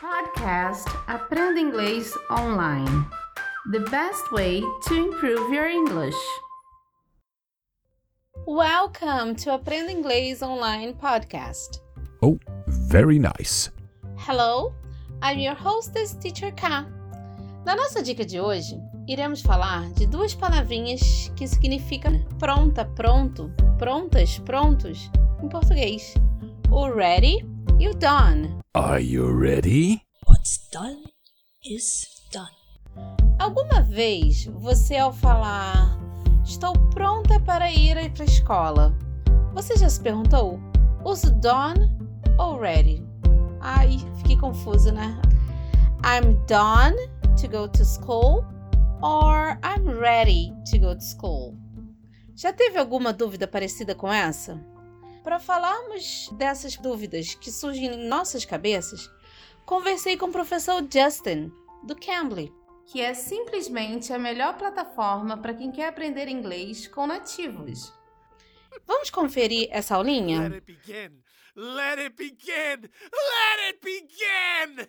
Podcast Aprenda Inglês Online. The best way to improve your English. Welcome to Aprenda Inglês Online podcast. Oh, very nice. Hello, I'm your hostess, Teacher K. Na nossa dica de hoje, iremos falar de duas palavrinhas que significam pronta, pronto, prontas, prontos em português. O ready e o done. Are you ready? What's done is done. Alguma vez você, ao falar estou pronta para ir para a escola, você já se perguntou, uso done ou ready? Ai, fiquei confusa, né? I'm done to go to school or I'm ready to go to school. Já teve alguma dúvida parecida com essa? Para falarmos dessas dúvidas que surgem em nossas cabeças, conversei com o professor Justin, do Cambly, que é simplesmente a melhor plataforma para quem quer aprender inglês com nativos. Vamos conferir essa aulinha? Let it begin! Let it begin! Let it begin!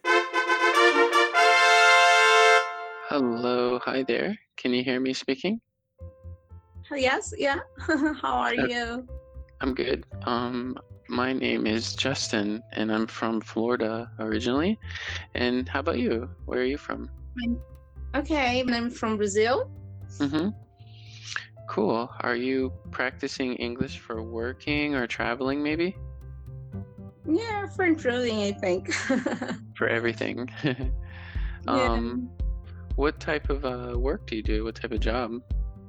Hello, hi there. Can you hear me speaking? Yes, yeah. How are you? I'm good. My name is Justin, and I'm from Florida originally. And how about you? Where are you from? Okay, I'm from Brazil. Mm-hmm. Cool. Are you practicing English for working or traveling, maybe? Yeah, for improving, I think. For everything. Yeah. What type of work do you do? What type of job?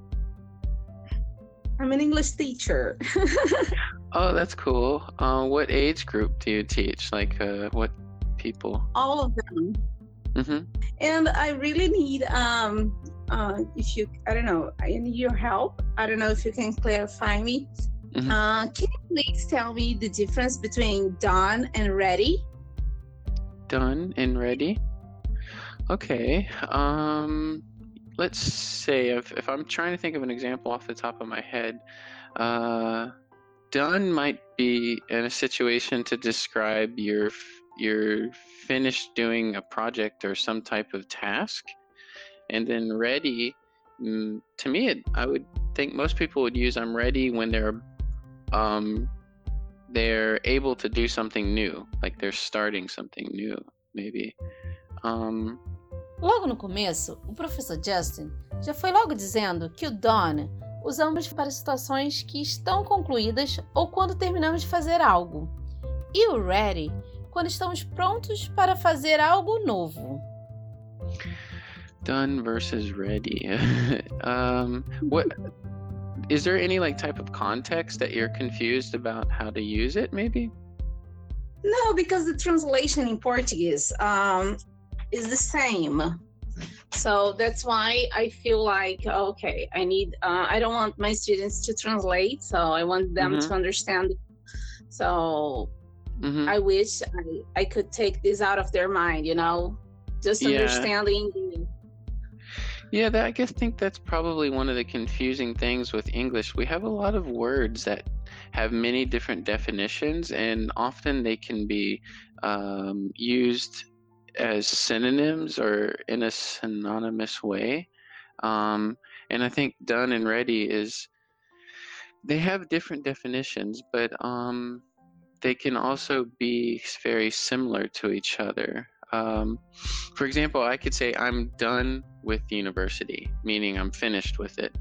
I'm an English teacher. Oh, that's cool. What age group do you teach? Like, what people? All of them. Mm-hmm. And I really need, if you, I don't know, I need your help. I don't know if you can clarify me. Mhm. Can you please tell me the difference between done and ready? Done and ready. Okay. Let's say if I'm trying to think of an example off the top of my head, done might be in a situation to describe you're finished doing a project or some type of task, and then ready. To me, I would think most people would use I'm ready when they're able to do something new, like they're starting something new, maybe. Logo no começo, o professor Justin já foi logo dizendo que o done usamos para situações que estão concluídas ou quando terminamos de fazer algo. E o ready, quando estamos prontos para fazer algo novo. Done versus ready. What is there any type of context that you're confused about how to use it, maybe? No, because the translation in Portuguese is the same. So that's why I feel like, okay, I don't want my students to translate, so I want them to understand. So Mm-hmm. I wish I could take this out of their mind, just Yeah. understanding. Yeah, I think that's probably one of the confusing things with English. We have a lot of words that have many different definitions, and often they can be used as synonyms or in a synonymous way. And I think done and ready they have different definitions, but they can also be very similar to each other. For example, I could say I'm done with university, meaning I'm finished with it.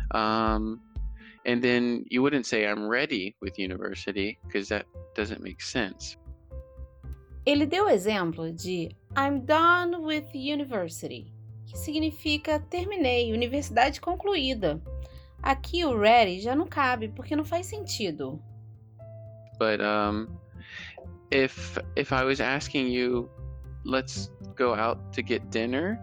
And then you wouldn't say I'm ready with university because that doesn't make sense. Ele deu o exemplo de I'm done with university, que significa terminei, universidade concluída. Aqui o ready já não cabe, porque não faz sentido. But if I was asking you, let's go out to get dinner,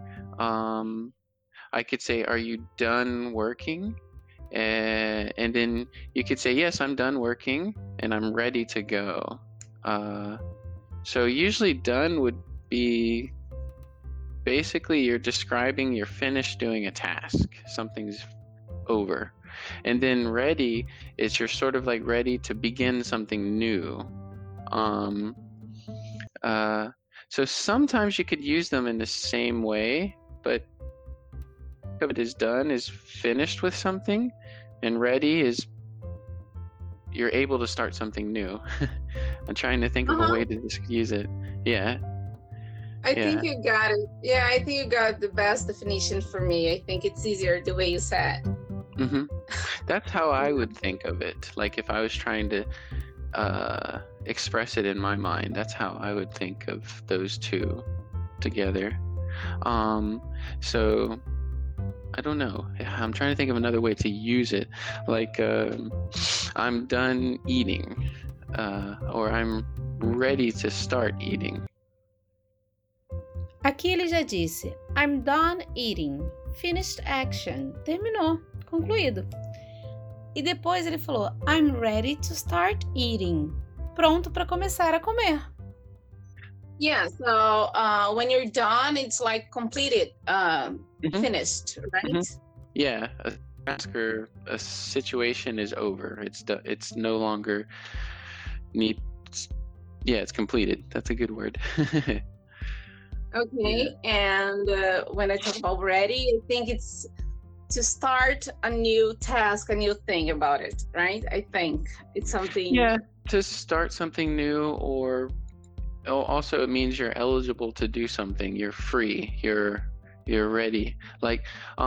I could say, are you done working? And then you could say, yes, I'm done working and I'm ready to go. So usually done would be basically you're describing you're finished doing a task, something's over. And then ready is you're sort of ready to begin something new. So sometimes you could use them in the same way, but it is done is finished with something, and ready is you're able to start something new. I'm trying to think of a Uh-huh. way to just use it. Yeah, I yeah. think you got it. Yeah, I think you got the best definition for me. I think it's easier the way you said. hmm That's how I would think of it. Like if I was trying to express it in my mind, that's how I would think of those two together. So I don't know. I'm trying to think of another way to use it. Like I'm done eating, or I'm ready to start eating. Aqui ele já disse I'm done eating. Finished action. Terminou. Concluído. E depois ele falou I'm ready to start eating. Pronto para começar a comer. Yeah, so when you're done, it's like completed, Mhm. finished, right? Mhm. Yeah, a task or a situation is over. It's no longer needs. Yeah, it's completed. That's a good word. Okay, and when I talk about ready, I think it's to start a new task, a new thing about it, right? I think it's something. Yeah, to start something new, or also it means you're eligible to do something. You're free. You're ready. Like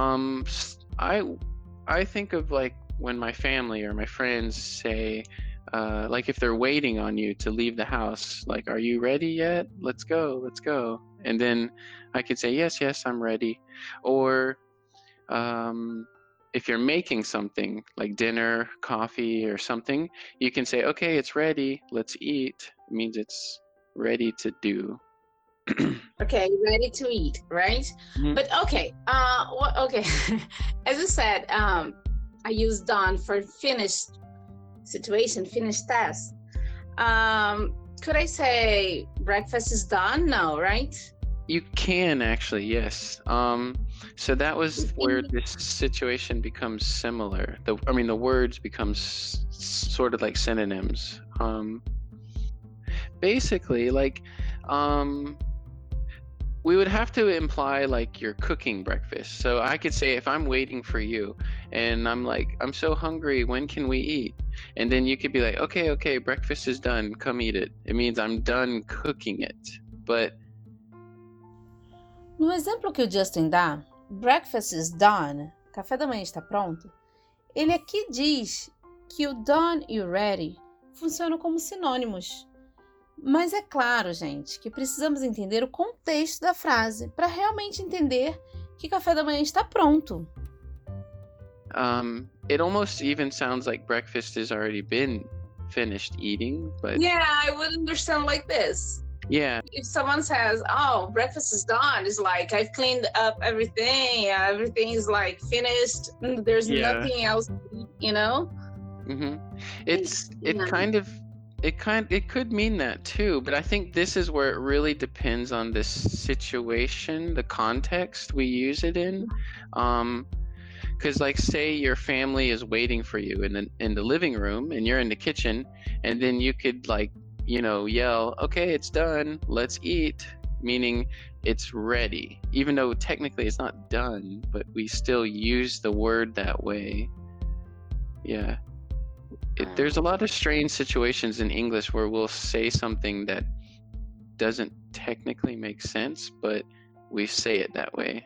I think of like when my family or my friends say like if they're waiting on you to leave the house, like, are you ready yet? Let's go. And then I could say, yes, I'm ready. Or if you're making something like dinner, coffee, or something, you can say, okay, it's ready. Let's eat. It means it's ready to do. Okay, ready to eat, right? Mhm. But okay, okay. As you said, I use done for finished situation, finished task. Could I say breakfast is done? No, right? You can actually, yes. So that was where Mhm. this situation becomes similar. The words become sort of like synonyms. Basically, like, we would have to imply like you're cooking breakfast. So I could say if I'm waiting for you and I'm like, I'm so hungry, when can we eat? And then you could be like, okay, breakfast is done, come eat it. It means I'm done cooking it. But No exemplo que o Justin dá, breakfast is done, café da manhã está pronto, ele aqui diz que o done e o ready funcionam como sinônimos. Mas é claro, gente, que precisamos entender o contexto da frase para realmente entender que café da manhã está pronto. it almost even sounds like breakfast has already been finished eating, but Yeah, I would understand like this. yeah, If someone says, "Oh, breakfast is done," it's like I've cleaned up everything. Everything is like finished. There's Yeah. nothing else, you know. hmm Yeah. it could mean that too, but I think this is where it really depends on this situation, the context we use it in. Because like say your family is waiting for you in the living room and you're in the kitchen, and then you could like yell, okay, it's done, let's eat, meaning it's ready, even though technically it's not done, but we still use the word that way. Yeah. There's a lot of strange situations in English where we'll say something that doesn't technically make sense, but we say it that way.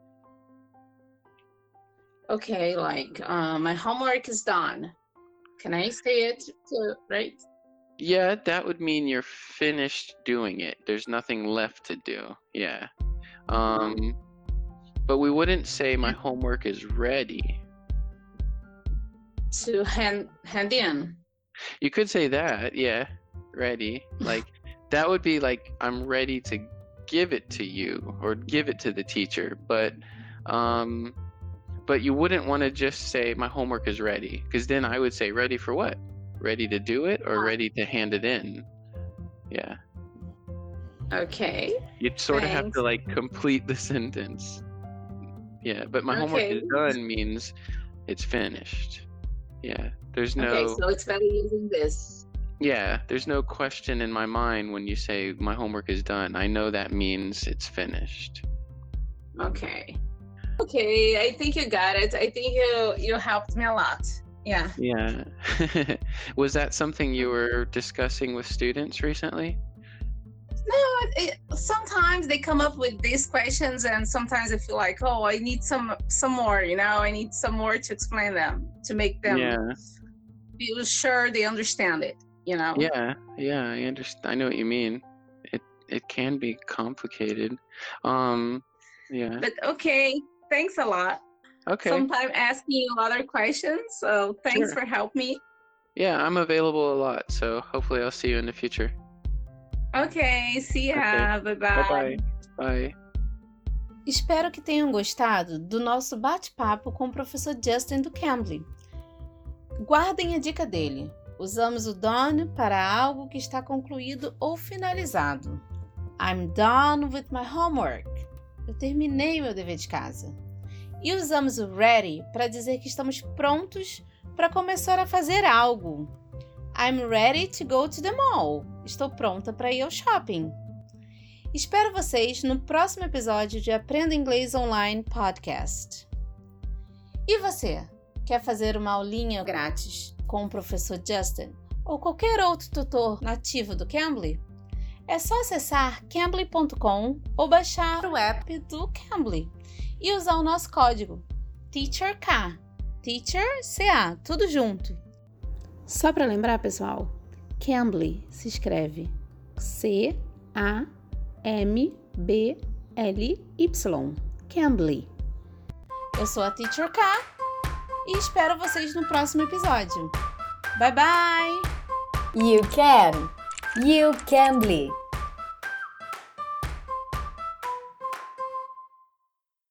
Okay, like my homework is done. Can I say it too, right? Yeah, that would mean you're finished doing it. There's nothing left to do. Yeah. But we wouldn't say my homework is ready. To hand in. You could say that, yeah, ready. Like that would be like I'm ready to give it to you or give it to the teacher, but you wouldn't want to just say my homework is ready, because then I would say ready for what? Ready to do it or ready to hand it in? Yeah. Okay. You'd sort of have Thanks. to like complete the sentence. Yeah, but my homework Okay. is done means it's finished. Yeah. There's no Okay, so it's better using this. Yeah, there's no question in my mind when you say my homework is done. I know that means it's finished. Okay. Okay, I think you got it. I think you helped me a lot. Yeah. Yeah. Was that something you were discussing with students recently? No, sometimes they come up with these questions, and sometimes I feel like, oh, I need some more. I need some more to explain them, to make them feel sure they understand it. Yeah, I understand. I know what you mean. It can be complicated. Yeah. But okay, thanks a lot. Okay. Sometime asking you other questions. So thanks Sure. for helping me. Yeah, I'm available a lot, so hopefully I'll see you in the future. Okay, see ya. Okay. Bye-bye. Bye-bye. Bye. Espero que tenham gostado do nosso bate-papo com o professor Justin do Cambly. Guardem a dica dele. Usamos o done para algo que está concluído ou finalizado. I'm done with my homework. Eu terminei meu dever de casa. E usamos o ready para dizer que estamos prontos para começar a fazer algo. I'm ready to go to the mall. Estou pronta para ir ao shopping. Espero vocês no próximo episódio de Aprenda Inglês Online Podcast. E você, quer fazer uma aulinha grátis com o professor Justin ou qualquer outro tutor nativo do Cambly? É só acessar cambly.com ou baixar o app do Cambly e usar o nosso código TEACHERK, TEACHER, tudo junto. Só para lembrar, pessoal, Cambly se escreve C-A-M-B-L-Y, Cambly. Eu sou a Teacher K e espero vocês no próximo episódio. Bye bye! You can! You Cambly!